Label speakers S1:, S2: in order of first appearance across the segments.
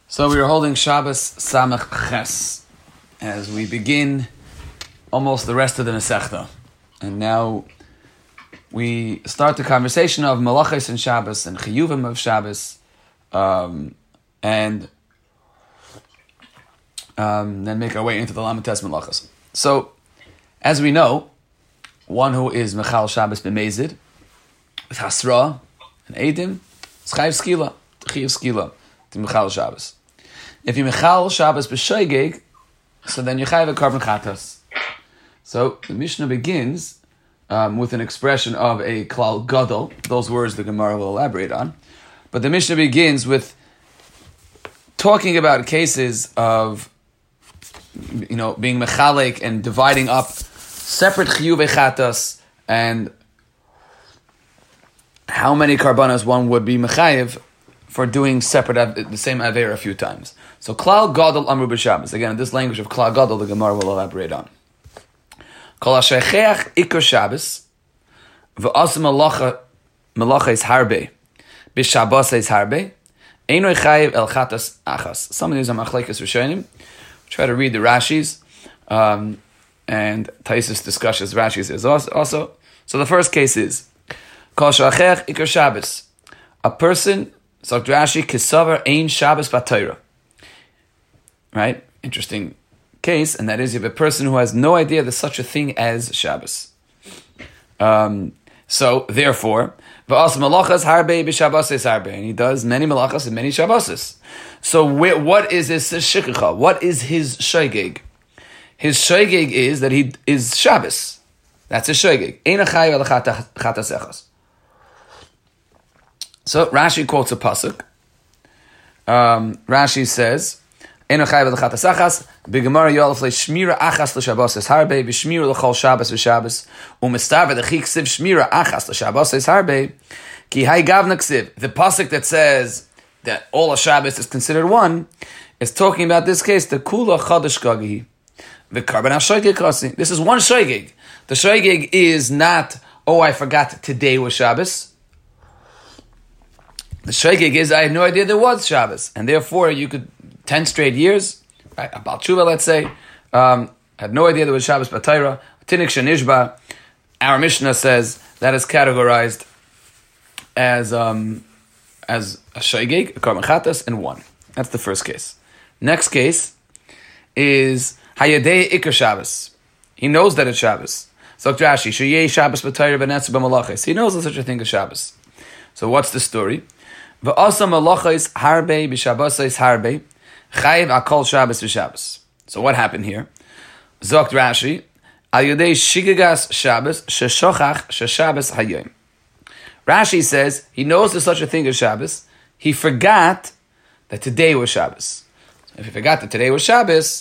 S1: So we are holding Shabbos Samach Ches as we begin almost the rest of the Masechta. And now we start the conversation of Malachos and Shabbos and Chiyuvim of Shabbos, and then make our way into the Lamites Malachos. So, as we know, one who is Mechal Shabbos b'Mezid, with Hasra and Eidim, it's Chayiv Skila, Chayiv Skila, to Mechal Shabbos. If you Mechal Shabbos b'Shoigeg, so then you Chayiv a Korban Chatas. So the Mishnah begins with an expression of a Klal Gadol. Those words the Gemara will elaborate on. But the Mishnah begins with talking about cases of, being Mechalek and dividing up separate Chiyuvei Chatas and how many Karbanos one would be Mechayiv for doing separate, the same Aveir a few times. So Klal Gadol Amru b'Shabbos. Again, this language of Klal Gadol the Gemara will elaborate on. Kol ha-shecheach ikar Shabbos v'asa malacha is harbe b'Shabbos is harbe eino chayiv el chatas achas. Some of these are machlekes rishonim. Try to read the Rashis, and Taisus discusses Rashis is also. So the first case is Kol ha-shecheach ikar Shabbos. A person, so Rashi, kisavar ein Shabbos b'Torah. Right? Interesting case, and that is you have a person who has no idea there's such a thing as Shabbos. So therefore, v'as malachas harbe b'Shabbos is harbe, and he does many malachas and many Shabboses. So what is his shikha? What is his shoigeg? His shoigeg is that he is Shabbos. That's his shoigeg. Ein chayiv el chatas echas. So Rashi quotes a pasuk. Rashi says, "Eno chayav l'chatas achas b'gemara yolef le'shmira achas l'shabbos es harbe b'shmira l'chol Shabbos v'Shabbos u'mistar v'dechi ksiv shmira achas l'shabbos es harbe ki hay gavna ksiv." The pasuk that says that all of Shabbos is considered one is talking about this case. The kula chadash gagi v'karban ha-shoigeg kasi. This is one shoigeg. The shoigeg is not, oh, I forgot today was Shabbos. The shoigeg is, I had no idea there was Shabbos, and therefore you could 10 straight years, right? About Tshuva, let's say, had no idea there was Shabbos b'Torah. Tinik shenishba, our Mishnah says that is categorized as a shoigeg, a korban chatas, and one. That's the first case. Next case is hayadei ikar Shabbos. He knows that it's Shabbos. So Rashi, sheyei Shabbos b'Torah b'netzu b'malachos. He knows there's such a thing as Shabbos. So what's the story? V'asa malachos harbe b'Shabbos harbe chayiv akol Shabbos v'Shabbos. So what happened here? Zokt Rashi, al yodei shigagas Shabbos sheshochach sheshabbos hayom. Rashi says he knows there's such a thing as Shabbos. He forgot that today was Shabbos. So if he forgot that today was Shabbos,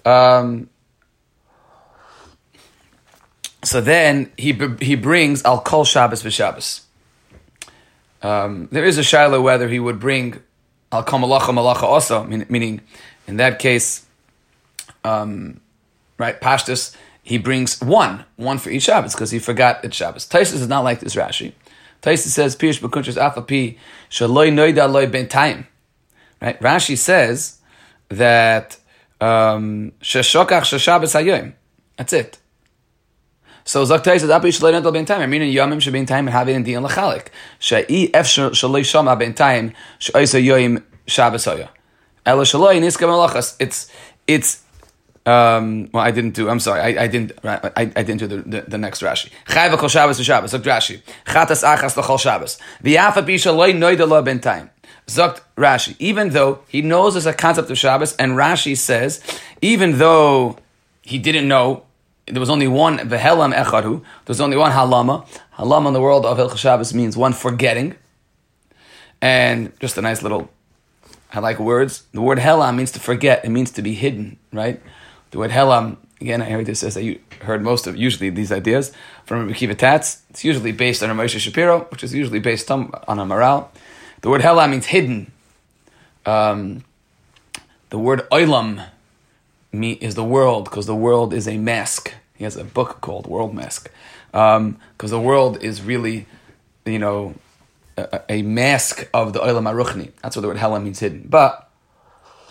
S1: so then he brings al kol Shabbos v'Shabbos. There is a shaila whether he would bring al kol malacha also, meaning in that case, right, Pashtus, he brings one for each Shabbos because he forgot it's Shabbos. Taisus is not like this Rashi. Taisus says, Pirush b'kuntres afapi shaloi noida loy ben time. Right? Rashi says that sheshokach sheshabbos hayom. That's it. So Zaktai says, "Api shalei noida ben time." I mean, in yomim shebin time and having in diyan lachalik. Shei efshar shalei shama ben time sheisa yoyim Shabbos hoya. Elo shaloi niska malachas. It's. Well, I didn't do. I'm sorry. I didn't. I didn't do the next Rashi. Chayv kol Shabbos v'Shabbos. Zokt Rashi. Chatas achas l'chol Shabbos. V'yafa bi shaloi noida lo ben time. Zokt Rashi. Even though he knows there's a concept of Shabbos, and Rashi says, even though he didn't know. There was only one v'helam echadu. There was only one halama. Halama in the world of Hilchos Shabbos means one forgetting. And just a nice little, I like words. The word helam means to forget. It means to be hidden, right? The word helam, again, I heard this says that you heard most of usually these ideas from Rabbi Kiva Tatz. It's usually based on a Moshe Shapiro, which is usually based on a Maral. The word helam means hidden. The word oilam is the world, because the world is a mask. He has a book called World Mask. Because the world is really, a mask of the Olam HaRuchni. That's what the word Hela means, hidden. But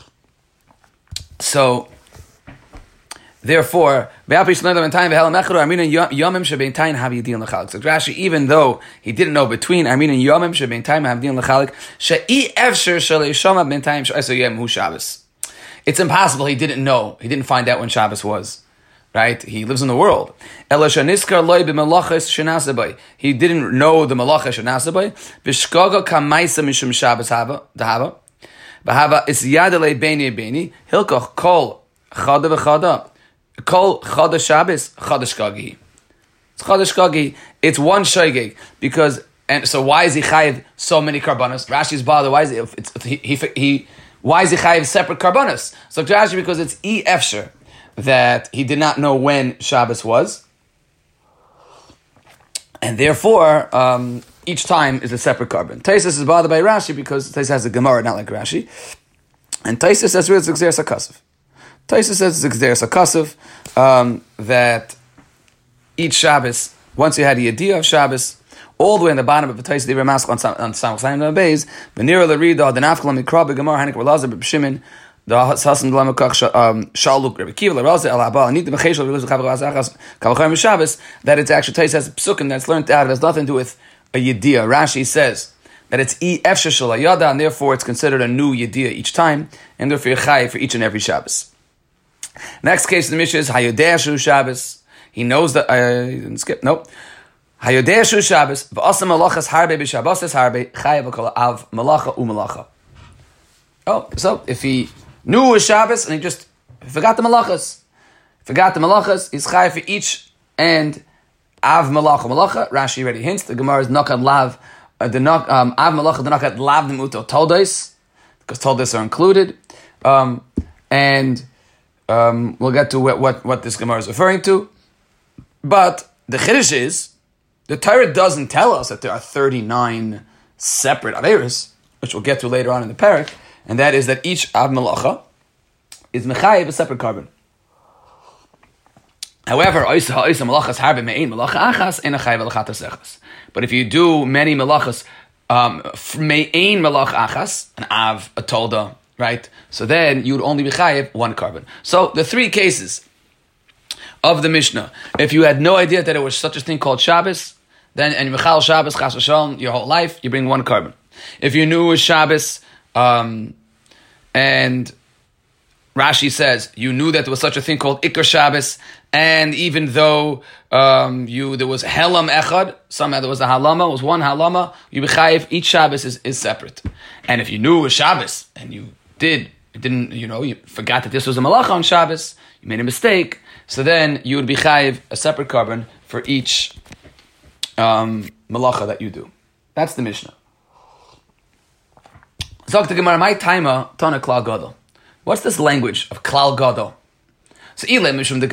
S1: So, therefore, so Rashi, even though he didn't know between Armin and Yomim shebein time havdin lechalik, she'i efsher shalei ben time she'asayem hu Shabbos. It's impossible. He didn't know. He didn't find out when Shabbos was. Right? He lives in the world. He didn't know the malacha shenasabai. V'shkaga kamaisa mishum Shabbos dahava. V'hava is yadalei beini beini. Hilkoch kol chada v'chada. Kol chada Shabbos chada shkagi. It's chada shkagi. It's one shogeg because. And so why is he chayiv so many karbanos? Rashi's bother. Why is why is he chayiv separate karbanos? So Rashi, because it's efsher that he did not know when Shabbos was, and therefore each time is a separate carbon. Taisus is bothered by Rashi because Taisus has a Gemara, not like Rashi, and Taisus says it's Gzeres HaKasav. Taisus says it's Gzeres HaKasav that each Shabbos, once you had the idea of Shabbos, all the way in the bottom of the Taisus Divrei Maskil on Samachayim Beis, V'nira l'rida, the Nafkalam Mikra b'Gemara Hanik V'Lazar b'Shimin, the Hasan B'Lamakach Shaluk Rebbe Kiva l'Raza El Haba Anit B'Cheshel V'Luz V'Chav Achas Kavachayim Shabbos, that it's actually Taisus has a psukim that's learned out. It has nothing to do with a yediyah. Rashi says that it's efsher shel hayada, and therefore it's considered a new yediyah each time, and therefore chayiv for each and every Shabbos. Next case in the Mishnah is Hayodeh Shu Shabbos. He knows that didn't skip. Nope. Hayodeh Shu Shabbos v'asam malachas harbe b'Shabbos harbe chayiv v'kol av malacha u'malacha. Oh, so if he knew it was Shabbos and he just forgot the malachas, he's chayiv for each and av malacha. Rashi already hints. The Gemara is nakat lav. Av malacha nakat lav demuto toldos, because toldos are included, and we'll get to what this Gemara is referring to. But the chiddush is the Torah doesn't tell us that there are 39 separate averos, which we'll get to later on in the parak, and that is that each av malacha is mechayev a separate carbon. However, but if you do many malachas, me'ein malach achas, an av, a tolda, right? So then you would only be chayev one carbon. So the three cases of the Mishnah, if you had no idea that it was such a thing called Shabbos, then and Michal Shabbos, Chas v'Shalom, your whole life, you bring one carbon. If you knew it was Shabbos, and Rashi says you knew that there was such a thing called Ikar Shabbos, and even though there was Helam Echad, somehow there was a Halama, it was one Halama, you b'chayev, each Shabbos is separate. And if you knew it was Shabbos, and you forgot that this was a Malacha on Shabbos, you made a mistake, so then you would be chayev a separate carbon for each Malacha that you do. That's the Mishnah. Zok the Gemara, my timer, Tana Klal Gadol. What's this language of Klal Gadol? So, if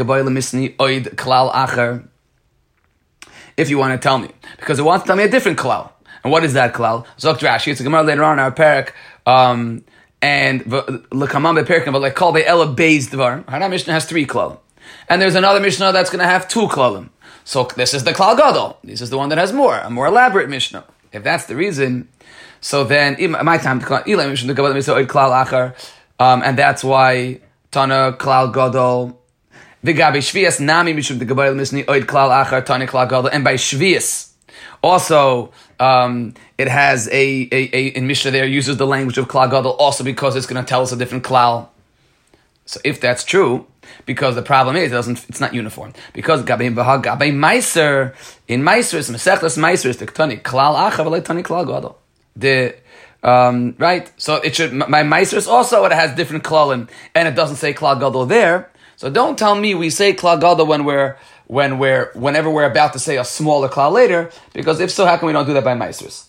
S1: you want to tell me, because it wants to tell me a different klal. And what is that klal? Zok Rashi, it's a Gemara later on in our parak, and l'kamam be'perkim, but like kol be'ela beis dvar. Our Mishnah has 3 klal, and there's another Mishnah that's going to have 2 klalim. So this is the Klal Gadol. This is the one that has a more elaborate Mishnah. If that's the reason, so then my time to klal achar, and that's why Tana Klal Gadol. V'gabi Shvias nami mishum degabayil misni oid klal achar Tana Klal Gadol, and by Shvias also it has in Mishnah there uses the language of Klal Gadol also because it's going to tell us a different klal. So if that's true, because the problem is it's not uniform. Because Gabi Meiser in Meiser is Mesechtas Meiser is the Tani Klal Achar v'lei Tani Klal Gadol. Right? So it should my Meiser also it has different klalim and it doesn't say Klal Gadol there. So don't tell me we say Klal Gadol whenever we're about to say a smaller klal later, because if so, how come we don't do that by Meisers?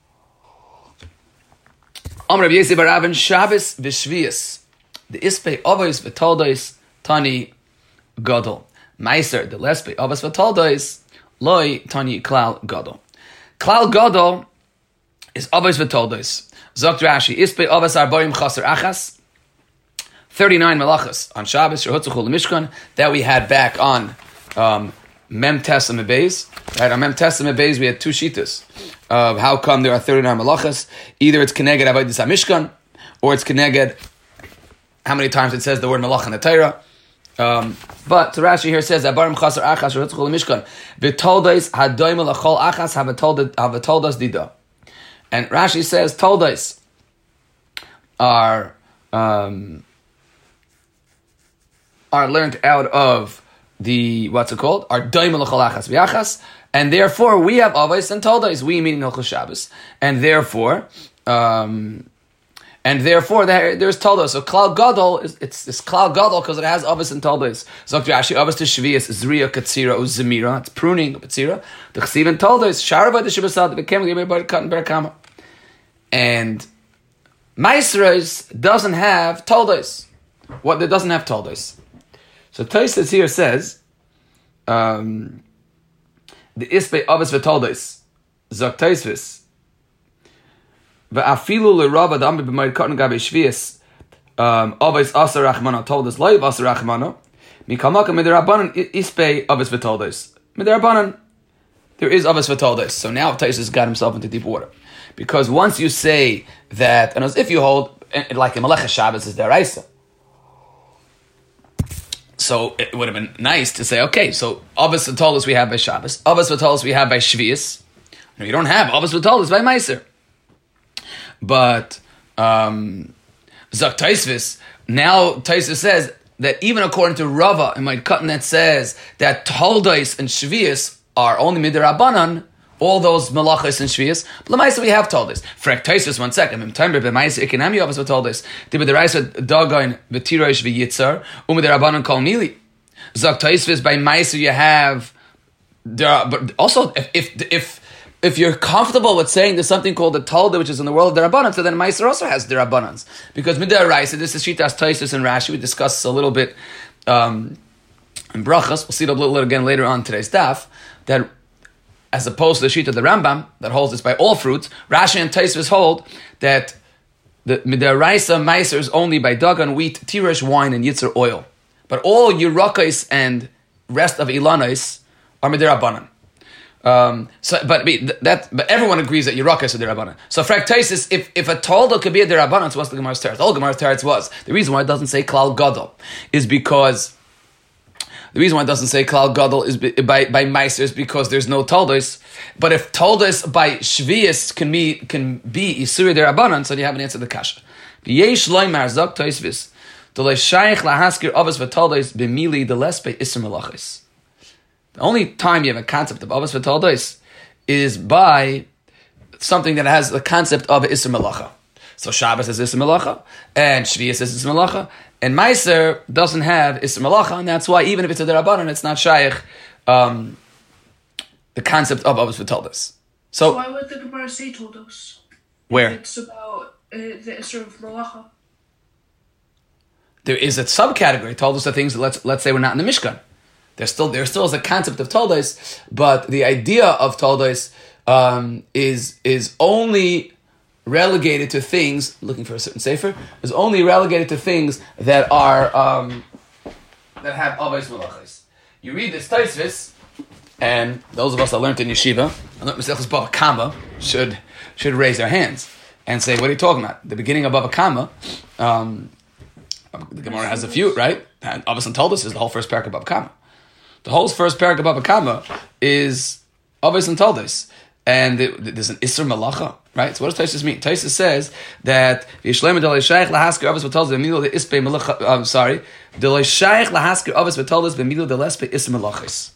S1: Amr Rabbi Yosef bar Avin Shabbos v'Shvius. The Ispei Avos v'Toldos Tani Gadol. Meiser the Lespei Avos v'Toldos Loi Tani Klal Gadol. Klal Gadol is Avos v'Toldos. Zokt Rashi Ispei Avos Arboim Chaser Achas. 39 malachas on Shabbos Shehutzuchu L'Mishkan that we had back on Mem Tes and Mebeis. Right, on Mem Tes and Mebeis we had 2 shitas of how come there are 39 malachas. Either it's Keneged Avodas HaMishkan or it's Keneged how many times it says the word malach in the Torah. But so Rashi here says Abarim Chasar Achas Rutzchul Mishkan V'Toldos Hadoim Lachol Achas Havatoldos Dida. And Rashi says Toldos are learned out of the what's it called? Are Doim Lachol Achas V'Achas, and therefore we have Avos and Toldos. We meaning Hilchos Shabbos, and therefore there's Toldos. So Klal Gadol it's Klal Gadol because it has Avos and Toldos. So Rashi Avos to Shvius Zriya Katsira Uzemira. It's pruning Katsira. The Chesiv and Toldos Sharava the Shibbasad became Gibber Cut and Berakama. And Maisros doesn't have Toldos. What that doesn't have Toldos. So Tosfos here says the Ispe Avos v'Toldos Zok Tosfos. Va'afilu l'rava da'ambi b'mayid katan gabe shvius avos asar rachmana toldos loiv asar rachmana mikamaka midirabanan ispe avos v'toldos midirabanan there is avos v'toldos. So now Tosfos got himself into deep water, because once you say that, and as if you hold like a Melech Shabbos is deraisa, so it would have been nice to say, okay, so avos v'toldos we have by Shabbos, avos v'toldos we have by shvius. No, you don't have avos v'toldos by Meiser. But Zak Tosfos, now Tosfos says that even according to Rava and my cutting that says that Toldos and Shvius are only midirabanan, all those malachos and Shvius. But Lamaisa we have Toldos. Frek Tosfos 1 second. Remember, B'Maisa Ikinami Avos v'Toldos. Dibba Deraisa Dagon v'Tirosh v'Yitzar umidirabanan kol mili. Zak Tosfos by Maisa you have there, but also if you're comfortable with saying there's something called the Tolda, which is in the world of the Rabbanan, so then Meiser also has the Rabbanans. Because Midaraisa, this is Shitas Tosfos and Rashi, we discussed a little bit in Brachas, we'll see it a little again later on today's daf, that as opposed to the Shita of the Rambam, that holds this by all fruits, Rashi and Tosfos hold that the Midaraisa Meiser is only by Dagan, wheat, Tirish, wine, and Yitzar oil. But all Yerakos and rest of Ilanos are Midarabanan. But everyone agrees that Yerakos is a derabanan. So Frek Tosfos, if a Tolda could be a derabanan, so what's the Gemara's teretz? All Gemara's teretz was the reason why it doesn't say Klal Gadol is because is by Meiser is because there's no Toldos. But if Toldos by Shvius can be Isuri derabanan, so you haven't answered the kasha. V'yesh loymar Zok Tosfos d'lo shaykh lahaskir avos v'Toldos b'mili d'lespe iser melachos. The only time you have a concept of Avos v'Toldos is by something that has the concept of Isser Melacha. So Shabbos is Isser Melacha, and Shvius is Isser Melacha, and Meiser doesn't have Isser Melacha, and that's why even if it's a Derabanan, it's not Shaykh, the concept of Avos v'Toldos. So
S2: why would the Gemara say Toldos?
S1: Where?
S2: It's about the Isser of Melacha.
S1: There is a subcategory, Toldos are things that let's say we're not in the Mishkan. There still is a concept of Toldos, but the idea of Toldos is only relegated to things, looking for a certain sefer, is only relegated to things that are that have Avos Malachos. You read this Tosfos, and those of us that learned in yeshiva, and learned Maseches Bava Kama, should raise their hands and say, what are you talking about? The beginning of Bava Kama, the Gemara has a few, right? And Avos and Toldos is the whole first parak of Bava Kama. The whole first parak of Bava Kama is Avos and Toldos. And there's an Isser Malacha, right? So what does Tosfos mean? Tosfos says that V'yishlema d'lo shaykh lahasker Avos v'Toldos b'milu de'ispe malacha. I'm sorry, d'lo shaykh lahasker Avos v'Toldos b'milu de'lespe Isser Malachos.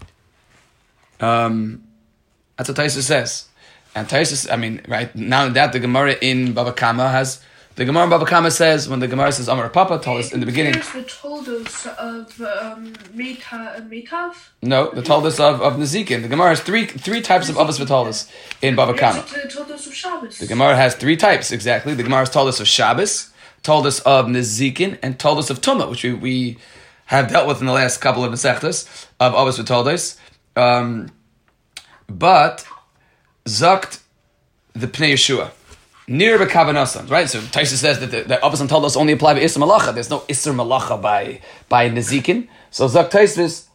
S1: That's what Tosfos says. And Tosfos, right now that the Gemara in Bava Kama has. The Gemara in Bava Kama says, when the Gemara says Amar Papa told us in the beginning.
S2: There's the Toldos of Meita and Meitav?
S1: No, the Toldos of Nezikin. The Gemara has three types of Avos v'Toldos in Bava Kama.
S2: The Toldos of Shabbos.
S1: The Gemara has three types, exactly. The Gemara has Toldos of Shabbos, Toldos of Nezikin, and Toldos of Tumah, which we have dealt with in the last couple of Masechtas of Avos v'Toldos. But Zakt the Pnei Yeshua. Near B'Kavanasan, right? So Tosfos says that the Avos and Toldos only apply by Isser Malacha. There's no Isser Malacha by Nezikin. So Zak Tosfos,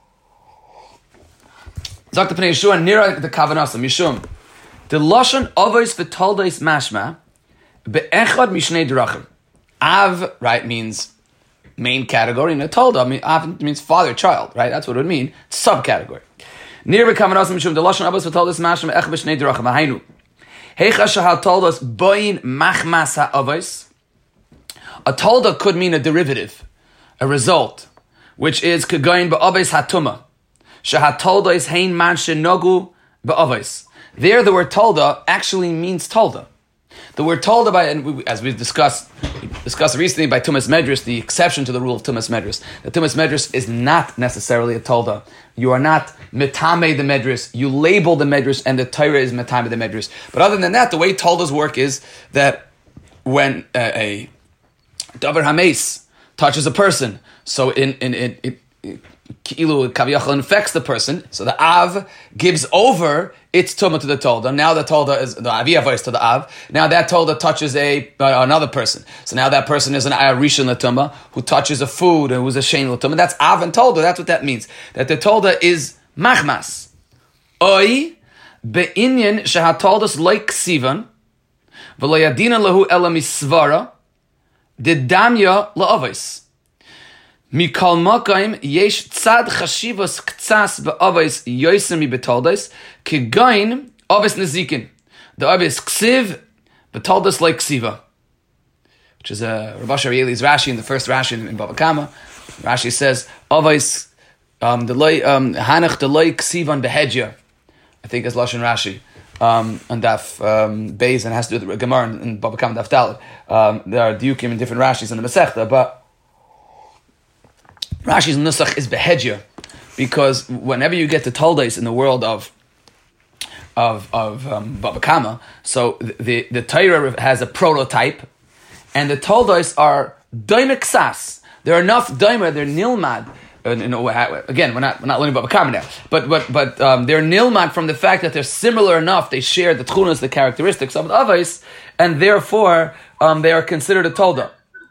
S1: Zak the Pnei Yeshua near the Kavanasan Mishum. The Lashon Avos v'Toldos mashma be'echad mishnei drachim. Av, right, means main category, and a tolda often means father-child, right? That's what it would mean. Subcategory. Near becoming us mishum the lashon abbas v'toldas mashma ech b'shnei derachim hainu. Heicha shahal toldas boin machmas ha'avos. A tolda could mean a derivative, a result, which is kegoin ba'avos hatuma. Shahat tolda is hein man shenogu ba'avos. There, the word tolda actually means tolda. The word tolda, as we discussed recently by Tumas Medrash, the exception to the rule of Tumas Medrash, that Tumas Medrash is not necessarily a tolda. You are not metame the Medrash. You label the Medrash, and the Torah is metame the Medrash. But other than that, the way toldas work is that when a davar hames touches a person, so it Ki'ilu Kaviyachal infects the person, so the Av gives over its tumah to the Tolda. Now the Tolda is the Aviyah to the Av. Now that Tolda touches another person. So now that person is an Rishon L'tumah who touches a food and who's a Shein L'tumah. That's Av and Tolda. That's what that means. That the Tolda is Machmas. Oi be'inyan shehatoldas like Sivan v'lo yadina lahu ela misvara didamya la'avos. Mikal Makaim yesh tzad chashivos ktsas be'avos yoyser mi betoldos kegain avos nezikin. The avos ksiv betoldos like ksiva, which is Rav Asher Eli's Rashi in the first Rashi in Bava Kama. Rashi says avos hanach delay ksivan behedya. I think it's Lashon Rashi on Daf Beis, and has to do with the Gemara in Bava Kama Daf Dalet. There are diukim in different Rashis in the Masechta, but Rashi's nusach is behedya, because whenever you get to toldos in the world of Bava Kama, so the Torah has a prototype, and the toldos are doime ksas. They're enough doime, they're nilmad. Again, we're not learning Bava Kama now, but they're nilmad from the fact that they're similar enough. They share the tchunas, the characteristics of the avos, and therefore they are considered a tolda.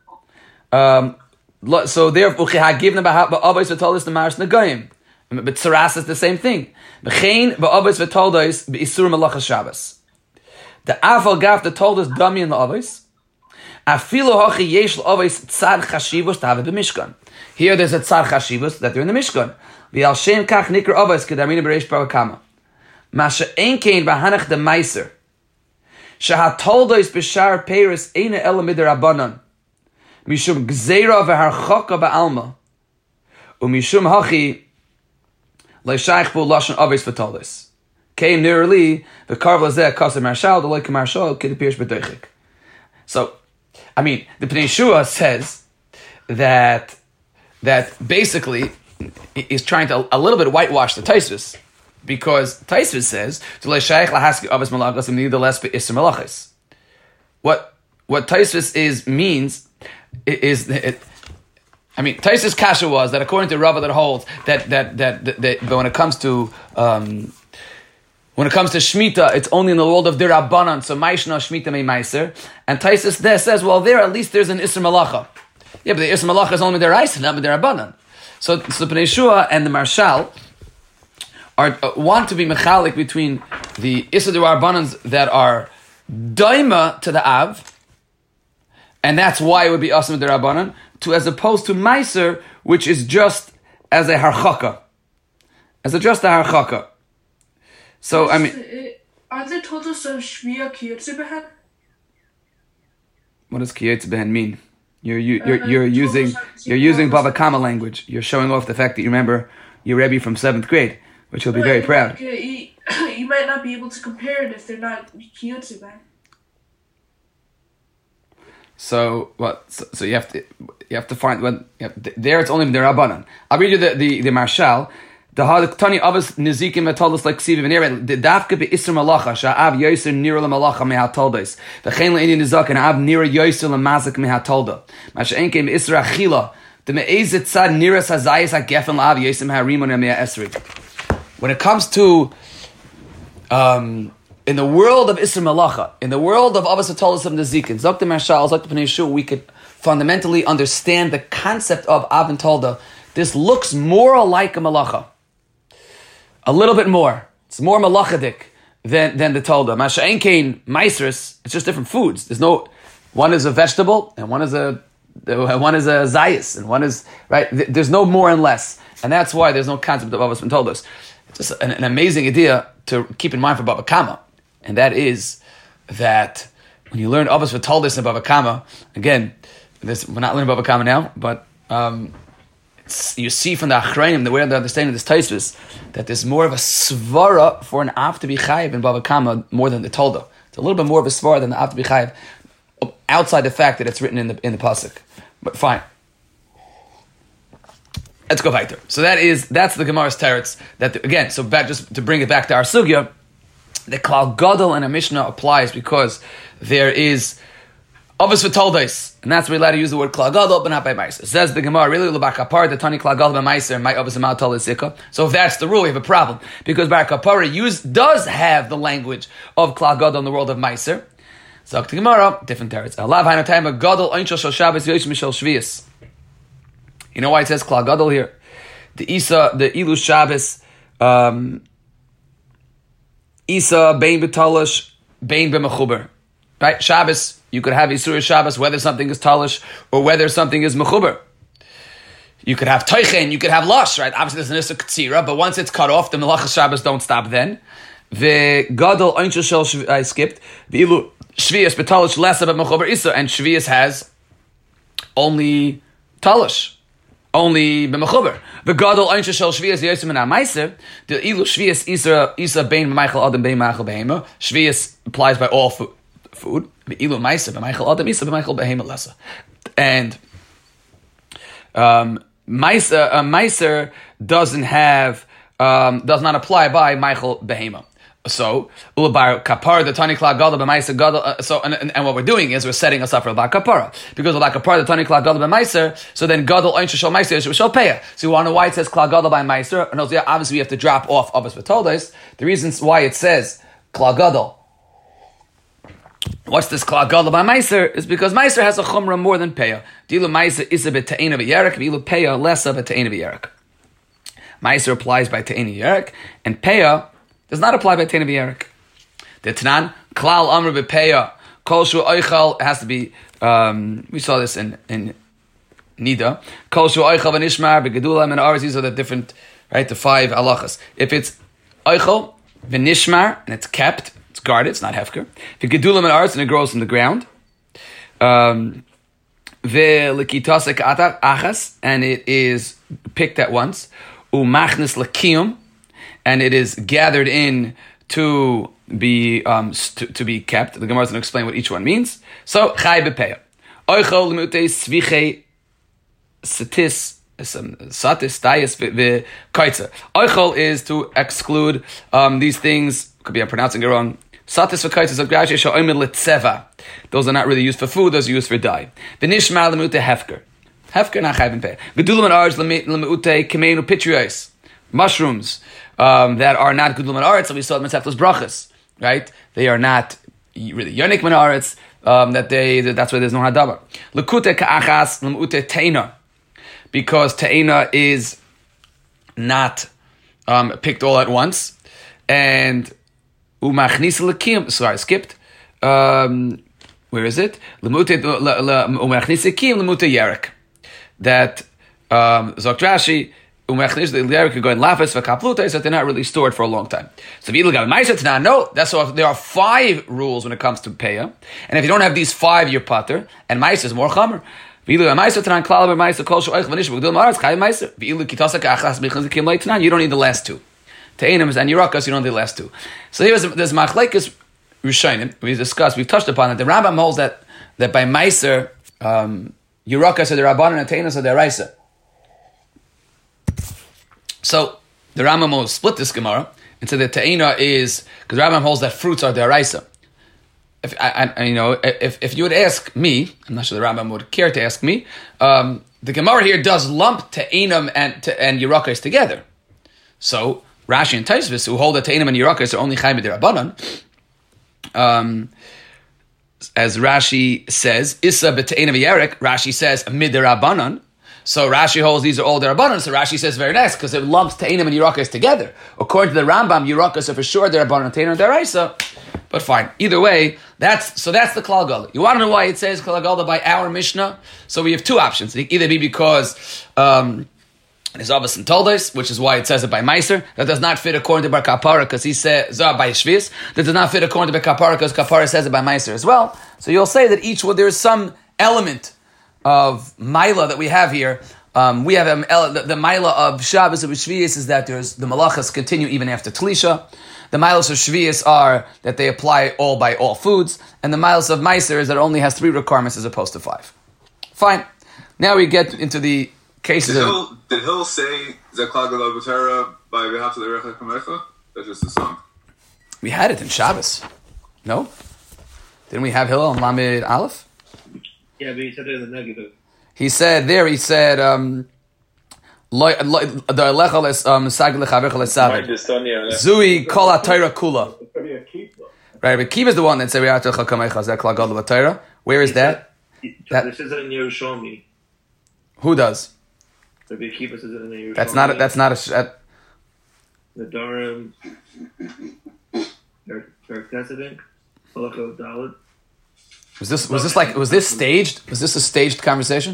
S1: So therefore, given about avos v'toldos the maris negayim, but tzaras is the same thing. B'chein ba'avos v'toldos b'isur malachas Shabbos. The afal gaf the toldos dami in the avos. Afilu hachi yesh l'avos tzad chashivos to have it b'mishkan. Here there's a tzad chashivos that they're in the mishkan. V'al shem kach nikra avos kedarini b'reish Bava Kama. Masha ein kein b'hanach de meiser. Shahat toldos b'shar peiris eina ela midirabanan. Mishum gzeira v'harchaka ba'alma, u'mishum hachi le'shayich bu lashon avos v'toldos. Kein nirli v'karv lazeh kasem marshal d'loy k'marshal k'depirish b'doichik. So, I mean, the Pnei Shua says that basically is trying to a little bit whitewash the Taisvis, because Taisvis says to le'shayich lahaski avos malachas nevertheless be'isur malachas. What Taisvis means. Taisus Kasha was that according to Rava that holds that when it comes to Shemitah, it's only in the world of Dirabanan, so Maishna Shemitah Mei Meiser, and Taisus there says, well, there at least there's an Isser Malacha. Yeah, but the Isser Malacha is only Deraisa, not Dirabanan. So Pnei Shua and the Marshal want to be mechalik between the Isser Dirabanans that are Daima to the Av, and that's why it would be Asam Derabanan, as opposed to Meiser, which is just as a harchaka. Just a harchaka. So,
S2: are they told us of Shmiya Kiyotze Behen?
S1: What does Kiyotze Behen mean? You're using Bava Kama language. You're showing off the fact that you remember your Rebbe from 7th grade, which he'll be very proud.
S2: You might not be able to compare it if they're not Kiyotze Behen.
S1: So what? So you have to find when there it's only Derabanan. I'll read you the Marshal. The Tani Avos Nizikim Atoldos like Siva Venera. The Dafka be Isser Malacha Sha'av Yoser Nira LaMalacha Mehatoldos. The Chen LaInyan Nizak and Av Nira Yoser LaMazik Mehatolda. Masha Enkem Isser Achila. The Me'ezit Tzad Nira Sazayis HaGefen LaAv Yoser Meharimon Mea Esri. When it comes to in the world of Isser Malacha, in the world of Avos Atoldos of Nizikin, Zok the Marshal, Zok the Pnei Shua, we could fundamentally understand the concept of Av and Tolda. This looks more like a Malacha. A little bit more. It's more Malachadik than the Tolda. Masha'en Kain Meisers, it's just different foods. One is a vegetable and one is a one is a Zayas, and one is, right? There's no more and less. And that's why there's no concept of Avos V'Toldos. It's just an amazing idea to keep in mind for Bava Kama. And that is that when you learn Avos V'Toldos in Bava Kama, again, we're not learning Bava Kama now, but you see from the Achrayim, the way they're understanding this Taisvis, that there's more of a svara for an Av to be chayiv in Bava Kama more than the Toldo. It's a little bit more of a svara than the Av to be chayiv, outside the fact that it's written in the pasuk. But fine. Let's go weiter. So that's the Gemara's teretz. Again, so back just to bring it back to our sugya, the Klal Gadol and a Mishnah applies because there is Avos V'Toldos, and that's where we're allowed to use the word Klal Gadol, but not by Meiser. Says the Gemara, really, L'Bakapar, the Tani Klal Gadol by Meiser, my Avos V'Toldos Sikha. So if that's the rule, we have a problem. Because Barakapara does have the language of Klal Gadol in the world of Meiser. So the Gemara, different teretz. Allah Hainu Taima Gadol Einshel Shel Shabbos Yosh Mishel Shvius. You know why it says Klal Gadol here? The Ilu Shabbos, Isa Bein B'Talish, Bein B'Mechuber. Right? Shabbos, you could have Isur Shabbos, whether something is Talish or whether something is Mechuber. You could have Teichen, you could have Lush, right? Obviously there's an Isur Ktsira, but once it's cut off, the Melachas Shabbos don't stop then. The Gadol Einshel Shel I skipped. The Ilu Shvius B'Talish less about Mechuber Isa, and Shvius has only Talish. Only b'mechuber. The Gadol Einshel Shel Shvius Yosem and Meiser. The Ilu Shvius Isa Bein B'Meichel Adam Bein Meichel Behema. Shvius applies by all food. The Ilu Meiser B'Meichel Adam Isa B'Meichel Behema Lessa. And Meiser does not apply by Meichel Behema. So, Ulabar Kapara, the Tani Klal Gadol b'Meiser Gadol. And what we're doing is we're setting us up for Ulabar Kapara, because Ulabar Kapara, the Tani Klal Gadol b'Meiser. So then Gadol Einshel Shel Meiser Shel Peah. So you want to know why it says Klal Gadol by Meiser? And obviously we have to drop off Avos V'Toldos. The reasons why it says Klal Gadol. What's this Klal Gadol by Meiser? Is because Meiser has a chumrah more than Peah. Dilu Meiser is a bit Ta'ina v'Yerek, Dilu Peah less of a Ta'ina v'Yerek. Meiser applies by Ta'ina v'Yerek, and Peah does not apply by Ta'ina v'Yerek. The Tanan, Klal Amr b'Peah, Kol Shu Oichal, has to be, we saw this in Nida, Kol Shu Oichal v'Nishmar, v'Gedula, and ours, these are the different, right, the 5 halachas. If it's Oichal, v'Nishmar, and it's kept, it's guarded, it's not hefker. V'Gedula, and ours, and it grows from the ground. V'Likitasek Achas, and it is picked at once. U'Machnis L'Kiyum, and it is gathered in to be kept. The Gemara is going to explain what each one means. So Chai b'Peah, Oichol l'mutei Svichei Satis Tayis v'Kaitza. Oichol is to exclude these things. Could be I'm pronouncing it wrong. Satis v'Kaitza Zagrashi Sha'omer L'Tzeva. Those are not really used for food. Those are used for dye. V'Nishma l'mutei Hefker. Hefker not Chai b'Peah. Gedulam and Arj l'mutei Kemeinu Pitrios. Mushrooms that are not good lumen so we saw Mitzvah's brachas, right? They are not really yonik menaretz. That's why there's no hadabar. Lekute ka'achas lemute teina, because teina is not picked all at once, and umachnis lekim. Sorry, I skipped. Where is it? Lemute umachnis lekim lemute yerek. That Zok Rashi. That they're not really stored for a long time. So if you look at Meiser no, that's why there are 5 rules when it comes to Peah, and if you don't have these 5, you're pater, and Meiser is more chamer. You don't need the last 2. Te'enim and Yerakas, you don't need the last 2. So there's machlekes Rishonim we've touched upon it. The Rambam holds that by Meiser, Yerakas are the Rabbanan and Te'enim are the Raisa. So the Rambam will split this Gemara and say that Ta'ina is, because the Rambam holds that fruits are deraisa. If you would ask me, I'm not sure the Rambam would care to ask me. The Gemara here does lump Ta'inam and Yerakas together. So Rashi and Taisvis, who hold that Ta'inam and Yerakas are only Chai b'derabanan, as Rashi says, Issa b'Ta'inam v'Yerek, Rashi says miderabanan. So Rashi holds these are all derabanan. So Rashi says very nice because it lumps Ta'inam and Yerakas together. According to the Rambam, Yerakas are for sure derabanan, Ta'inam and deraisa. But fine. Either way, that's the Klal Gadol. You want to know why it says Klal Gadol by our Mishnah? So we have two options. It can either be because there's Avos and Toldos, which is why it says it by Meiser. That does not fit according to Bar Kapara, because he says by Shvis. That does not fit according to Bar Kapara, because Kapara says it by Meiser as well. So you'll say that each one, there is some element of Maila that we have here. We have the Maila of Shabbos of Shvius is that there's the Malachas continue even after Tlisha. The Miles of Shvius are that they apply all by all foods, and the Miles of Meiser is that it only has 3 requirements as opposed to 5. Fine. Now we get into the cases
S3: Did Hill say Zeklal Gadol B'Torah by V'Ahavta L'Recha Kamecha? That's just a song.
S1: We had it in Shabbos. No? Didn't we have Hillel and Lamed Aleph?
S4: Yeah, but he said it in the negative.
S1: He said, Zui kol ha-Torah kula. Right, but Kiva is the one that said, Klal Gadol B'Torah. Where is that?
S4: This is in Yerushalmi.
S1: Who does?
S4: Rabbi Akiva says it in Yerushalmi.
S1: That's not a...
S4: The Durham, Eric Tessedink, Halacha Dalit.
S1: Was this staged? Was this a staged conversation?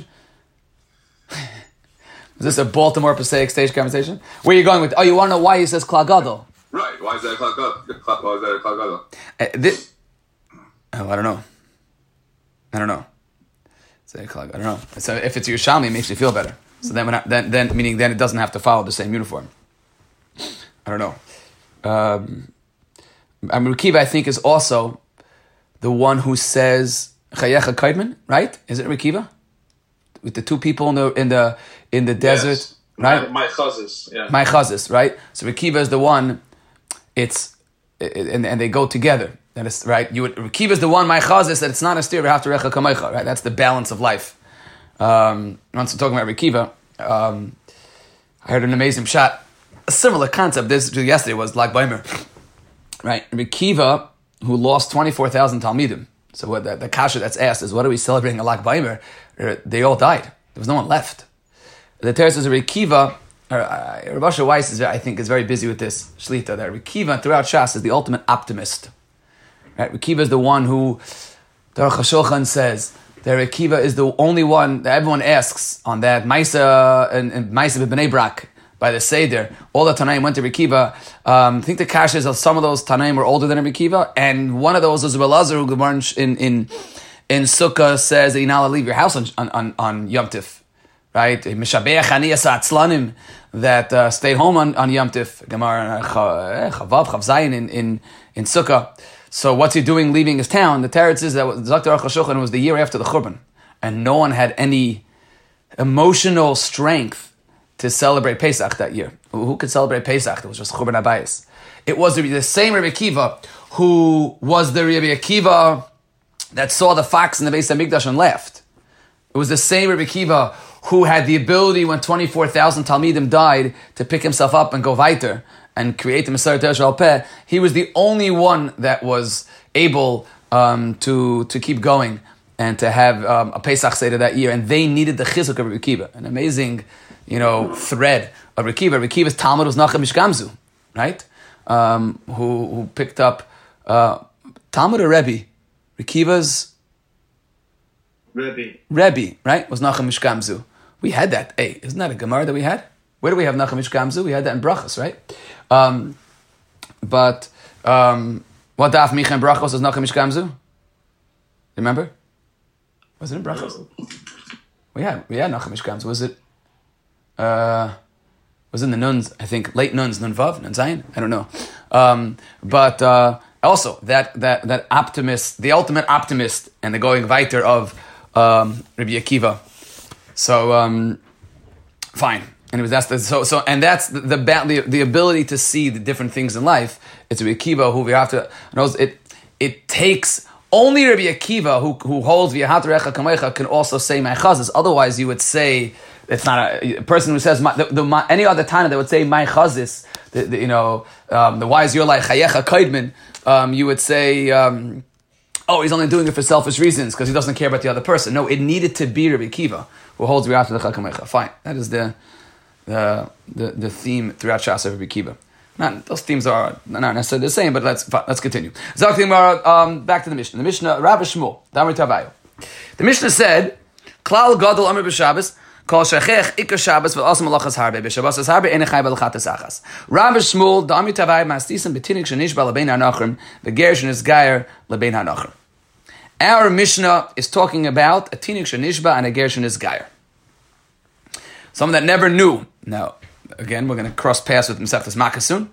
S1: Was this a Baltimore Passaic staged conversation? Where are you going with? Oh, you want to know why he says Klal Gadol?
S3: Right. Why is that a Klal Gadol? Why is that a Klal Gadol?
S1: I don't know. Say Klal Gadol. I don't know. So if it's Yerushalmi, it makes you feel better. So then it doesn't have to follow the same uniform. I don't know. Rekiva, I think, is also the one who says Chayecha Kaidman, right? Is it Rekiva? With the 2 people in the desert,
S3: yes.
S1: right?
S3: My chazis, yeah.
S1: My chazis, right? So Rekiva is the one. And they go together. That is right. Rekiva is the one. My chazis that it's not a steer. We have to recha kamecha. Right. That's the balance of life. Once we're talking about Rekiva, I heard an amazing shot. A similar concept. This yesterday was Lag Baimer, right? Rekiva, who lost 24,000 Talmidim. So what the kasha that's asked is, what are we celebrating a Lag Baimer? They all died. There was no one left. The Torah says Rekiva, Rav Asher Weiss I think is very busy with this shlita. That Rekiva throughout Shas is the ultimate optimist. Right? Rekiva is the one who the Aruch HaShulchan says that Rekiva is the only one that everyone asks on that Maisa and Maisa b'Bnei Brak by the Seder. All the Tanaim went to Rekiva. I think the kasha is some of those Tanaim were older than Rekiva, and one of those was Elazar who Gemara in Sukkah says that you're not allowed to leave your house on Yom Tif, right? Mishabeach Aniyas Atzlanim that stayed home on Yom Tif. Gemara Chavav Zayin in Sukkah. So what's he doing leaving his town? The Teretz is that Zakta Aruch HaShulchan was the year after the Churban, and no one had any emotional strength to celebrate Pesach that year. Who could celebrate Pesach? It was just Churban Abayis. It was the same Rabbi Akiva who was the Rabbi Akiva that saw the fox in the Beis HaMikdash and laughed. It was the same Rabbi Akiva who had the ability when 24,000 Talmidim died to pick himself up and go weiter and create the Messiah Teresh Al Peh. He was the only one that was able to keep going and to have a Pesach Seder that year. And they needed the chizuk of Rabbi Akiva. An amazing, thread of Rabbi Akiva. Rabbi Akiva's Talmud was Nachum Mishgamzu, right? Who picked up Talmud or Rebbe? Rekiva's Rebbe, right? Was Nachum Mishgamzu. We had that. Hey, isn't that a Gemara that we had? Where do we have Nachum Mishgamzu? We had that in Brachos, right? But what Daf Micha in Brachos was Nachum Mishgamzu? Remember? Was it in Brachos? We had Nachum Mishgamzu. Was in the Nuns, I think, late Nuns, Nun Vav, Nun Zayin? I don't know. But also, that optimist, the ultimate optimist, and the going weiter of Rabbi Akiva. So, fine. And that's the ability to see the different things in life. It's Rabbi Akiva who we have to knows it takes only Rabbi Akiva who holds V'ahavta L'Recha Kamecha can also say my chazis. Otherwise, you would say it's not a person who says any other Tana that would say my chazis. The wise you're like Chayecha Kaidman. You would say, he's only doing it for selfish reasons because he doesn't care about the other person. No, it needed to be Rabbi Akiva who holds V'ahavta L'Recha Kamecha. Fine, that is the theme throughout Shas of Rabbi Akiva. Those themes are not necessarily the same, but let's continue. Back to the Mishnah. The Mishnah, Rabbi Shmuel, Damri Tavayo. The Mishnah said, Klal Gadol Amr B'Shabbos, Kol Shechech Ikar Shabbos, V'Asam Malachas Harbe, B'Shabbos Harbe, Enechai B'Lachatas Achas. Rabbi Shmuel, Damri Tavayo, Mastisim B'Tinik Shenishba L'Bein HaNachrim, V'Ger Shenisgayer L'Bein HaNachrim. Our Mishnah is talking about a Tinik Shenishba and a Ger Shenisgayer. Someone that never knew. Now, again, we're going to cross paths with Masechtas Makkah soon.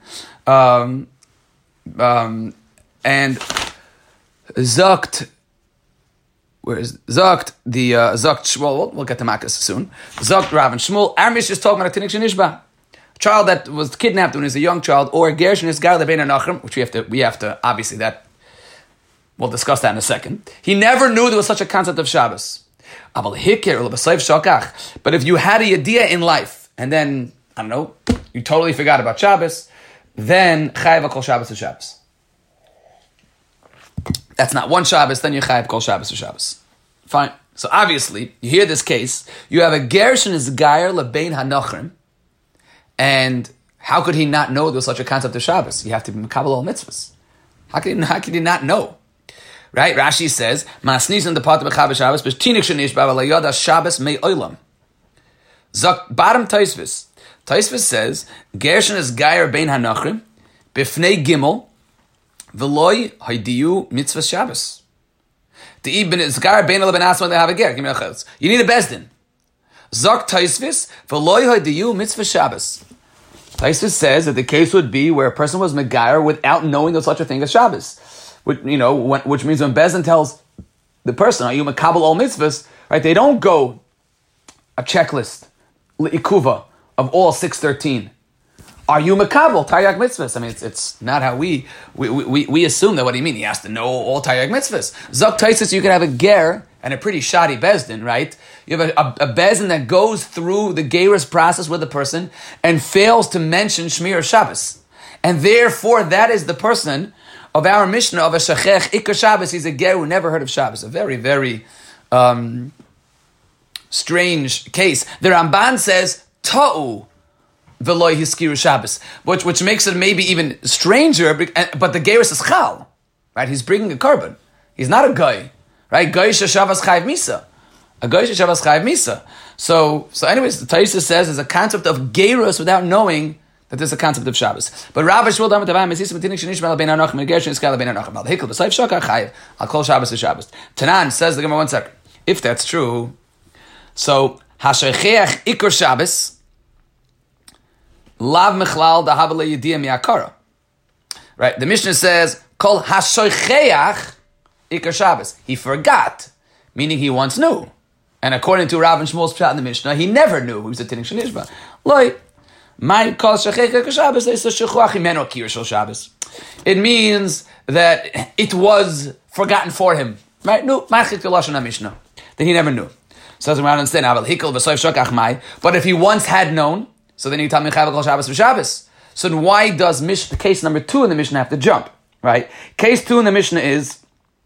S1: And Zakt, where is Zakt? The Zakt Shmuel, we'll get to Makkah soon. Zakt Rav and Shmuel. Our Mishnah is talking about a Tinik Shenishba. A child that was kidnapped when he was a young child, or a Ger Shenisgayer L'Bein HaNachrim, which we have to, obviously, that, we'll discuss that in a second. He never knew there was such a concept of Shabbos. But if you had a idea in life, and then, I don't know, you totally forgot about Shabbos, then Chayav Kol Shabbos to Shabbos. That's not one Shabbos, then you Chayav Kol Shabbos to Shabbos. Fine. So obviously, you hear this case, you have a Ger Shenisgayer L'Bein HaNachrim, and how could he not know there was such a concept of Shabbos? You have to be Mekabel all mitzvahs. How could he not know? Right? Rashi says, "Masnis in the part of Chav Shabbos, but tinik shenish ba'alayada Shabbos mei olam." Zok bottom Taisvis. Taisvis says, "Gershon is gayer bein hanachrim b'fnei gimel v'loy haydiyu mitzvah Shabbos." The ibn is gayer bein ben asma they have a ger. Give me a chutz. You need a bezdin. Zok Taisvis v'loy haydiyu mitzvah Shabbos. Taisvis says that the case would be where a person was megayer without knowing there's such a thing as Shabbos. Which means when Bezdin tells the person, are you makabel all mitzvahs, right? They don't go a checklist, ikuva, of all 613. Are you makabel taryag mitzvahs? I mean, it's not how we assume that. What do you mean? He has to know all taryag mitzvahs. Zok taisis, you can have a ger and a pretty shoddy Bezdin, right? You have a Bezdin that goes through the gerus process with the person and fails to mention Shmir Shabbos. And therefore, that is the person of our Mishnah of a Shechech Ikar Shabbos. He's a ger who never heard of Shabbos. A very, very strange case. The Ramban says, Ta'u v'loy hiskiru Shabbos, which makes it maybe even stranger, but the gerus is Chal, right? He's bringing a carbon. He's not a guy, right? Guy Shabbos Chayv Misa. A guy Shabbos Chayv Misa. So anyways, the Taisa says there's a concept of gerus without knowing that there's a concept of Shabbos. But Rav Shmuel Damar Tavaim Mesisim Tinik Shenishma L'Bein HaNachrim and Gershon Iskal L'Bein HaNachrim Al Hikol B'Sayf Shakar Chayiv Al Kol Shabbos to Shabbos. Tanan says the Gemara, one second. If that's true, so Hashecheach Ikar Shabbos Lav Mechlal Dahav LeYediyah Mi'akara. Right? The Mishnah says Kol Hashecheach Ikar Shabbos. He forgot, meaning he once knew. And according to Rav and Shmuel's pshat in the Mishnah, he never knew he was a Tinik Shenishma. Loi. It means that it was forgotten for him. Right? No, that he never knew. So as we understand, but if he once had known, so then you tell me Shabbos. So then why does case number 2 in the Mishnah have to jump? Right? Case 2 in the Mishnah is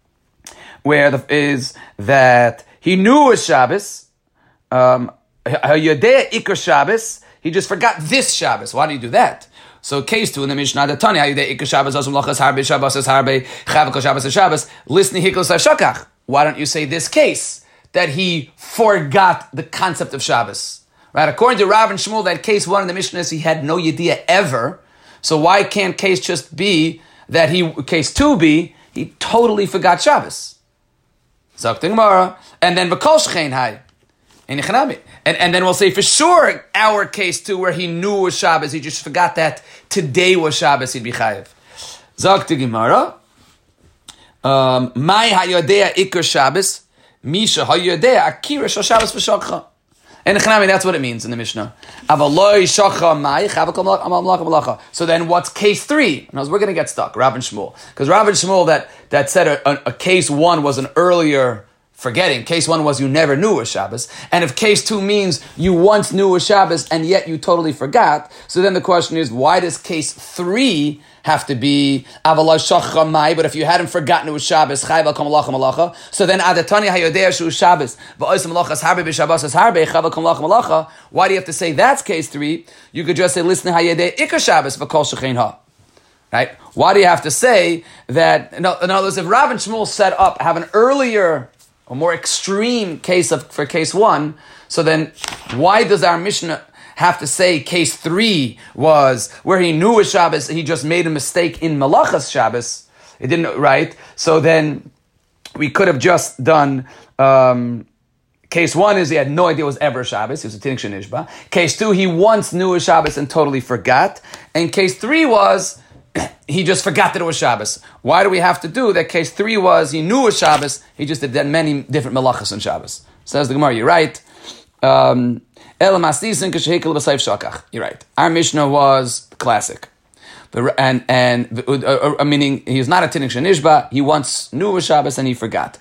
S1: that he knew it was Shabbos, Ikar Shabbos. He just forgot this Shabbos. Why do you do that? So case 2 in the Mishnah, the Tanya, why don't you say this case, that he forgot the concept of Shabbos? Right? According to Rav and Shmuel, that case 1 in the Mishnah is he had no yediyah ever. So why can't case just be that case 2 be, he totally forgot Shabbos? Zok the Gemara. And then v'kol shechein hai. And then we'll say for sure our case too, where he knew it was Shabbos, he just forgot that today was Shabbos, he'd be chayiv. Zok the Gemara. Mai hayodea ikar Shabbos, misha hayodea akira shal Shabbos v'shokcha. And that's what it means in the Mishnah. So then what's case 3? We're going to get stuck, Rav and Shmuel. Because Rav and Shmuel that said a case 1 was an earlier forgetting. Case 1 was you never knew it was Shabbos. And if case 2 means you once knew it was Shabbos and yet you totally forgot, so then the question is, why does case 3 have to be avalai shachar mai, but if you hadn't forgotten it was Shabbos, chayv al kam malacha malacha. So then adatani hayodeh shu Shabbos, va'osim malachas harbe b'Shabbos as harbe chayv al kam malacha malacha. Why do you have to say that's case 3? You could just say listen hayodeh ikar Shabbos v'kol shechein ha. Right? Why do you have to say that? In other words, if Rav and Shmuel set up have an earlier, a more extreme case for case 1, so then why does our Mishnah have to say case 3 was where he knew it was Shabbos, he just made a mistake in Malachas Shabbos? It didn't, right? So then we could have just done case 1 is he had no idea it was ever Shabbos. He was a Tinnik Shenishba. Case 2, he once knew it was Shabbos and totally forgot. And case 3 was he just forgot that it was Shabbos. Why do we have to do that? Case 3 was he knew it was Shabbos, he just did many different Malachas on Shabbos. Says the Gemara, you're right. You're right. Our Mishnah was classic. Meaning he's not a Tinnik Shenishba, he once knew it was Shabbos and he forgot.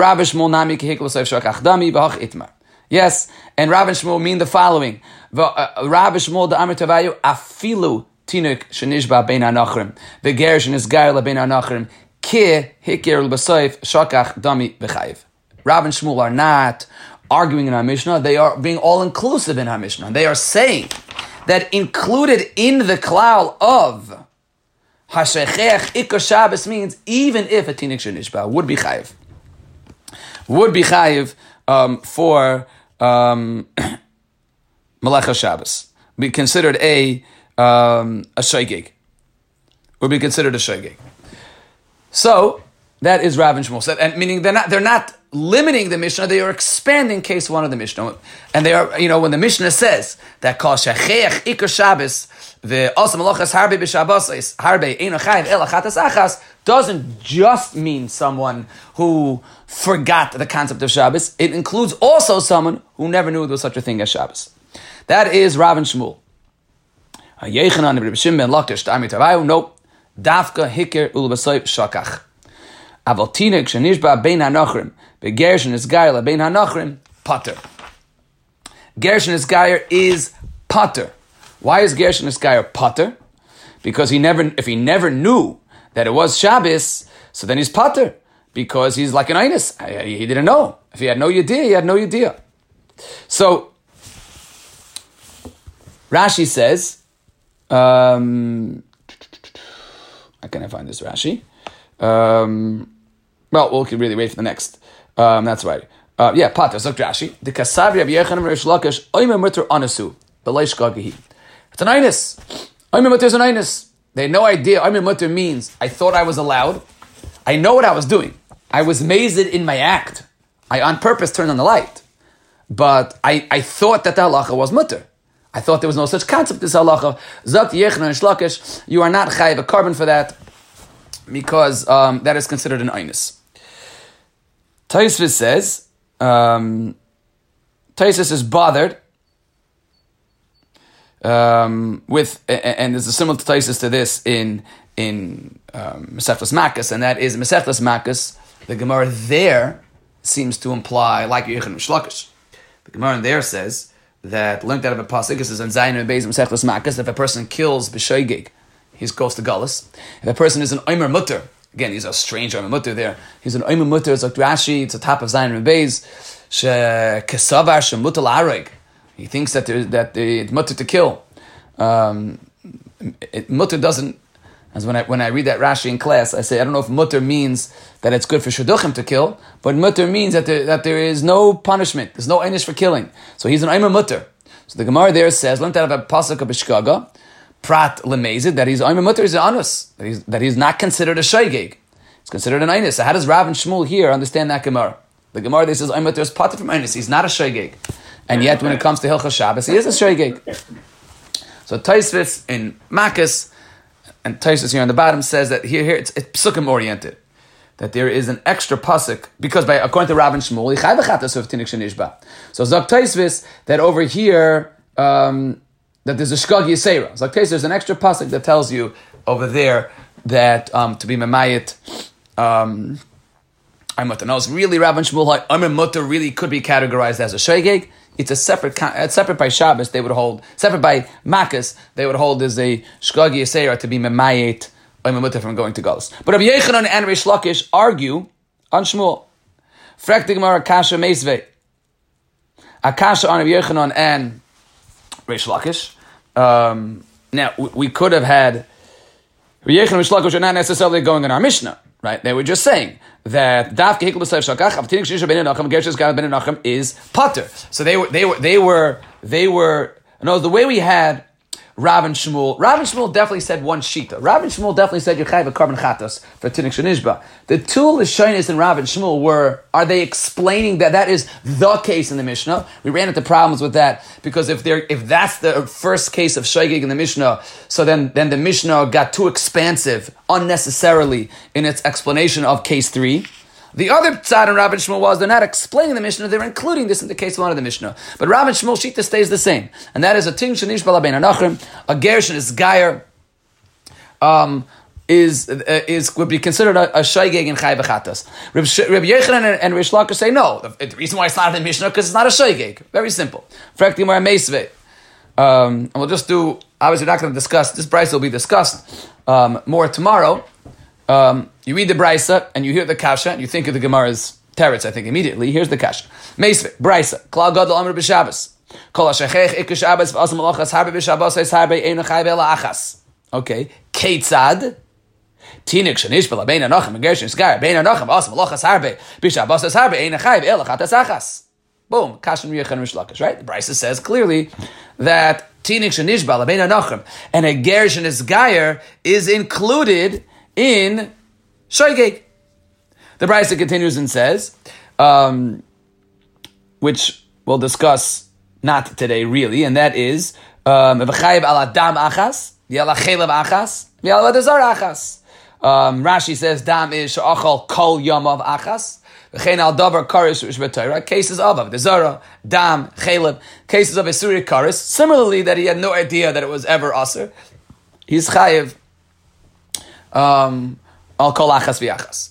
S1: Yes, and Rav and Shmuel mean the following. Rav Shmuel the Amr Tavayu afilu Tinuk Shenishba bein hanachrim v'ger shenisgar lebein hanachrim ki hikir l'basoif shakach dami v'chayiv. Rav and Shmuel are not arguing in our Mishnah, they are being all-inclusive in our Mishnah. They are saying that included in the klal of Hashechech Ikar Shabbos means even if a Tinuk Shenishba would be chayiv. For Melecha Shabbos. Be considered a shaygig. Would be considered a shaygig. So that is Rav and Shmuel said, and meaning they're not limiting the Mishnah, they are expanding case 1 of the Mishnah. And they are, when the Mishnah says that kol shachech ikar Shabbos the osam malachas harbe b'Shabbos harbe eino chayiv el achatas achas doesn't just mean someone who forgot the concept of Shabbos. It includes also someone who never knew there was such a thing as Shabbos. That is Rav and Shmuel. Yechanan ibn Shimon ben Lakish ta'ami tavayu. No, dafka hikir ulbasoy shakach. Aval tinik shenishba bein hanachrim begershon is gair bein hanachrim pater. Gershon is gair is pater. Why is Gershon is gair pater? Because if he never knew that it was Shabbos, so then he's pater because he's like an einus. He didn't know. If he had no idea, he had no idea. So Rashi says. How can I find this Rashi? We can really wait for the next. That's right. Pater. Zok Rashi. The Kasavri of Yechanan Rish Lakish Oimer Mutter Anasu B'Leish Gagehi. It's an einus. Oimer Mutter is an einus. They had no idea. Oimer Mutter means I thought I was allowed. I know what I was doing. I was mazed in my act. I on purpose turned on the light, but I thought that the halacha was mutter. I thought there was no such concept as halacha. Zok Yechanan Rish Lakish. You are not chayiv a carbon for that, because that is considered an einus. Taisvis says, Taisus is bothered with, and there's a similar to Taisus to this in Mesechtas Makkas, and that is Mesechtas Makkas. The Gemara there seems to imply like Yechanan Shlakish. The Gemara there says that linked out of a pasuk, this is in Zayin and Beis Mesechtas Makkas. If a person kills b'shoigig, he goes to Galus. If a person is an Omer Mutter, again, he's a strange Omer Mutter there. He's an Omer Mutter, it's like Rashi, it's the top of Zayin and Beis. Kesavar shemutal areg. He thinks that it's mutter to kill. Mutter doesn't. As when I read that Rashi in class, I say I don't know if mutter means that it's good for shidduchim to kill, but mutter means that there is no punishment. There's no einish for killing. So he's an Omer Mutter. So the Gemara there says, learned out of a pasuk of Bishkaga, prat lemezid, that he's Omer Mutter is an anus, that he's not considered a shaygig. It's considered an einus. So how does Rav and Shmuel here understand that Gemara? The Gemara there says Omer Mutter is pater from einus. He's not a shaygig. And yet, when it comes to Hilchos Shabbos, he is a shaygig. So Taisvis in Makkas, and Taisvis here on the bottom says that here it's psukim oriented, that there is an extra pasuk because according to Rav and Shmuel, so Zok Taisvis that over here that there's a shkag yisera. Zok Taisvis there's an extra pasuk that tells you over there that to be memayit. I'm mutter. Now it's really Rav and Shmuel like Omer Mutter really could be categorized as a shaygig. It's separate by Shabbos, they would hold, separate by Makkas, they would hold as a Shkagi Yisera to be Memayet I'm mutter from going to Galus. But Rabbi Yechanan and Reish Lakish argue on Shmuel. Frek the Gemara Kasha Meisvei. Akasha on Rabbi Yechanan and Reish Lakish. Now, we could have had Rabbi Yechanan and Reish Lakish are not necessarily going in our Mishnah, right? They were just saying that Daf Kehikl B'Sayv Shakach Avtinik Shisha Ben Nachem Gershis Gad Ben Nachem is Pater. So they were. No, the way we had Rav and Shmuel definitely said one shita. Rav and Shmuel definitely said Yechai v'Karban Chatas for Tinik Shenishba. The two Lashonis in Rav and Shmuel are they explaining that is the case in the Mishnah? We ran into problems with that because if that's the first case of Shaygig in the Mishnah, so then the Mishnah got too expansive unnecessarily in its explanation of case 3. The other side in Rav and Shmuel was they're not explaining the Mishnah, they're including this in the case 1 of the Mishnah. But Rav and Shmuel shita stays the same. And that is a ting shenish bala bein anachrim, a gershon is gayer, would be considered a shaygeg in chai v'chatas. Rabbi Yechanan and Reish Lakish say no. The reason why it's not in the Mishnah because it's not a shaygeg. Very simple. Frek the Gemara meisvei. And we'll just do. Obviously, we're not going to discuss this. Brisa will be discussed more tomorrow. You read the Brisa and you hear the Kasha and you think of the Gemara's teretz, I think, immediately. Here's the Kasha. Meisvei, Brisa, Klal Gadol Amr B'Shabbos. Kol HaShechech Ikka Shabbos V'asam Malachas Harbe B'Shabbos Eis Harbe Eino Chai V'ela Achas. Okay. Keitzad. Tinik Shanish B'la Bein HaNochem Gershon Sgar Bein HaNochem V'asam Malachas Harbe B'Shabbos Eis Harbe Eino Chai V'ela Chatas Achas. Boom. Kasha Rabbi Yechanan Reish Lakish, right? The Brisa says clearly that Tinik Shanish B'la Bein HaNochem and a Gershon Sgar is included in Shaygeg. The Brisa continues and says, which we'll discuss not today really, and that is V'chayiv al adam achas, v'yala chelev achas, v'yala dezar achas. Rashi says dam is she'achal kol yamav achas, v'chein al davar karis v'shbetayra, cases of dezara, dam, chelev, cases of Isuri karis. Similarly, that he had no idea that it was ever aser. He's chayiv al kol achas v'achas.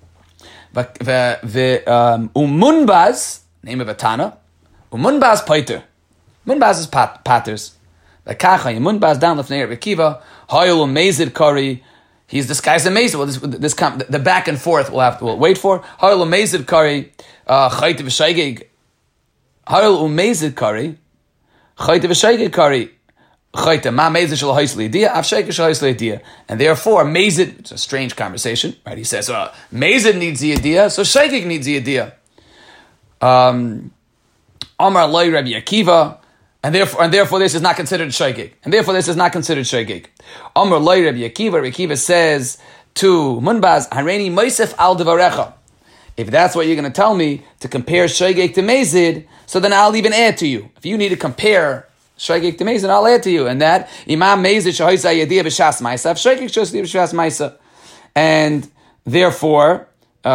S1: Umunbaz, name of a Tana, Umunbaz pater. Munbaz is paters. The kacha Umunbaz down lefnei Rebbe Kiva. Hayul umezid kari. He's disguised as mezid. Well, the back and forth we'll wait for. Hayul umezid kari. Chayte v'shaygeg. Hayul umezid kari. Chayte v'shaygeg kari. Chayte ma mezid shel ha'is le'idiyah. Av shaygeg shel ha'is le'idiyah. And therefore mezid. It's a strange conversation, right? He says mezid needs the idiyah, so shaygeg needs the idiyah. Amar loy Rabbi Akiva. And therefore, this is not considered shaygeg. Amar loy Rabbi Akiva. Rabbi Akiva says to Munbaz, Hareini Moisef al devarecha. If that's what you're going to tell me to compare shaygeg to mezid, so then I'll even add to you. If you need to compare shaygeg to mezid, I'll add to you. And that imam mezid shahoisa yediyah b'shas ma'isa, shaygeg shahoisa b'shas ma'isa. And therefore,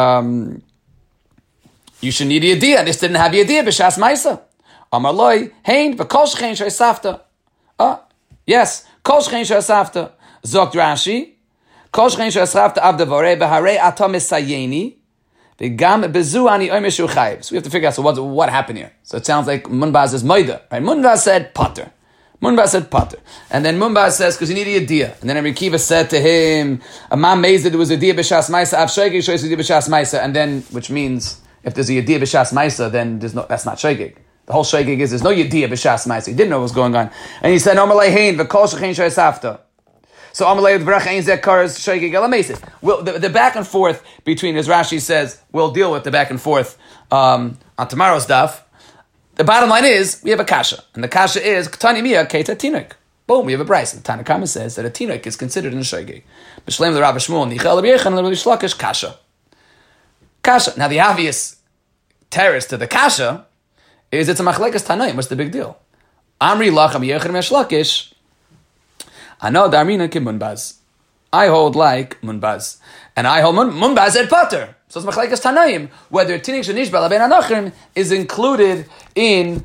S1: you should need yediyah. And this didn't have yediyah b'shas ma'isa. Amar loy, hein, v'kol shchein sh'esafta. Yes, kol shchein sh'esafta. Zokt Rashi, kol shchein sh'esafta avdavorei v'harei atom esayeni v'gam bezu ani omer shu chayiv. So we have to figure out, so what happened here? So it sounds like Munbaz is moida, right? Munbaz said pater. And then Munbaz says, because you need a yediyah. And then Rabbi Akiva said to him, Amam mezid was a yediyah b'shas ma'isa, av shaygeg shoyis yediyah b'shas ma'isa. And then, which means, if there's a yediyah b'shas ma'isa, then that's not shaygeg. The whole shaygeg is there's no yediyah b'shas ma'isa. He didn't know what was going on, and he said, "Omalei hein v'kol shechein shayisafta." So Omalei v'brach ein zekaras shaygeg elamesis. Well, the back and forth between, as Rashi says, we'll deal with the back and forth on tomorrow's daf. The bottom line is we have a kasha, and the kasha is Ktani Mia Keita Tinuk. Boom, we have a Brisa. The Tanna Kama says that a tinuk is considered in a shaygeg. B'shleim the Rabbi Shmuel Nichel Rabbi Yechanan Rabbi Shlakish kasha. Now the obvious terrorist to the kasha is it's a machlekes tanaim. What's the big deal? Amri lach Rabbi Yechanan Reish Lakish. I know Darmina kim Munbaz. I hold like Munbaz, and I hold Munbaz at pater. So it's machlekes tanaim whether tinik shenish b'la bein anachrim is included in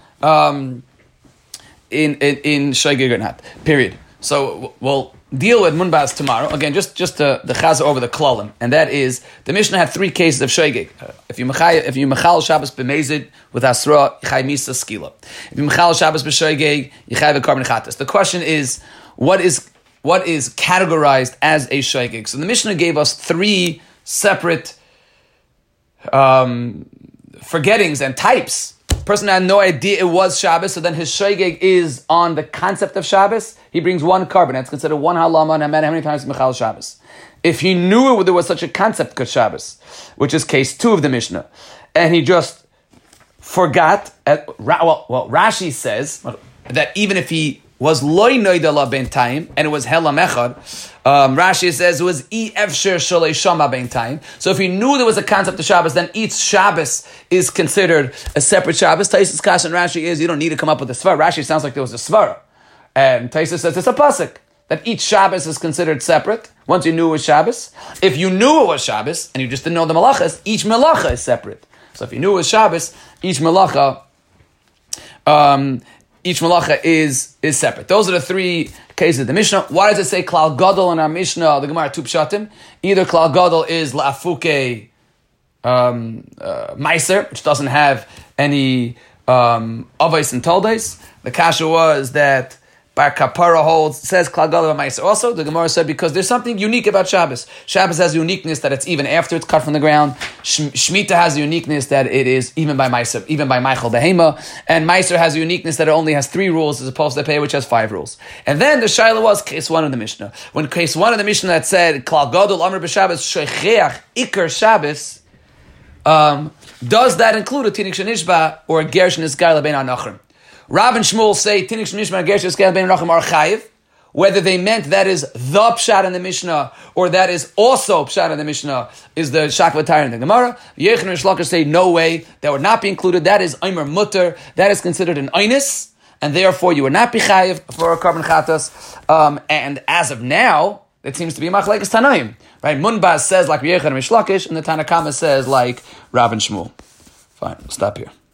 S1: shaygeg or not. Period. So we'll deal with Munbaz tomorrow. Again, just the chaza over the klalim, and that is the Mishnah had 3 cases of shaygeg. If you mechal Shabbos b'mezid with asra, yichay misa skila. If you mechal Shabbos b'shaygeg, yichay v'karban chatas. The question is, what is what is categorized as a shaygig. So the Mishnah gave us 3 separate forgettings and types. Person had no idea it was Shabbos, so then his shaygig is on the concept of Shabbos. He brings 1 carbon. That's considered 1 halama, no matter how many times Michal Shabbos. If he knew there was such a concept called Shabbos, which is case 2 of the Mishnah, and he just forgot, Rashi says that even if he was loy noidala ben time, and it was helam echad, Rashi says it was efsher shalei shama ben time. So if he knew there was a concept of Shabbos, then each Shabbos is considered a separate Shabbos. Taisus Kash and Rashi is, you don't need to come up with a svara. Rashi sounds like there was a svara. And Taisus says it's a pasuk, that each Shabbos is considered separate, once you knew it was Shabbos. If you knew it was Shabbos, and you just didn't know the malachas, each malacha is separate. So if you knew it was Shabbos, each malacha is separate. Those are the 3 cases of the Mishnah. Why does it say klal gadol in our Mishnah? The Gemara 2 pshatim. Either klal gadol is la'afuke meiser, which doesn't have any avos and toldes. The kasha was that Bar Kapara holds, says klal gadol meiser. Also, the Gemara said because there's something unique about Shabbos. Shabbos has a uniqueness that it's even after it's cut from the ground. Shemitah has a uniqueness that it is even by meiser, even by Michael Behema. And meiser has a uniqueness that it only has 3 rules as opposed to pay, which has 5 rules. And then the shaila was case 1 of the Mishnah. When case 1 of the Mishnah that said klal gadol amr b'Shabbos shecheach ikar Shabbos, does that include a tinik shenishba or a ger shenisgar lebein anachrim? Rav and Shmuel say tinik shenishba and ger shenisgar lebein anachrim are chayiv. Whether they meant that is the pshat in the Mishnah or that is also pshat in the Mishnah is the shakvatayr in the Gemara. Yechon and Shlokar say no way, that would not be included. That is Eimer Mutter. That is considered an Einis, and therefore you would not be chayiv for a carbon chatas. And as of now, it seems to be machlekes Tanaim. Right? Munbaz says like Yechon and Shlakish, and the Tanakama says like Rav and Shmuel. Fine, we'll stop here.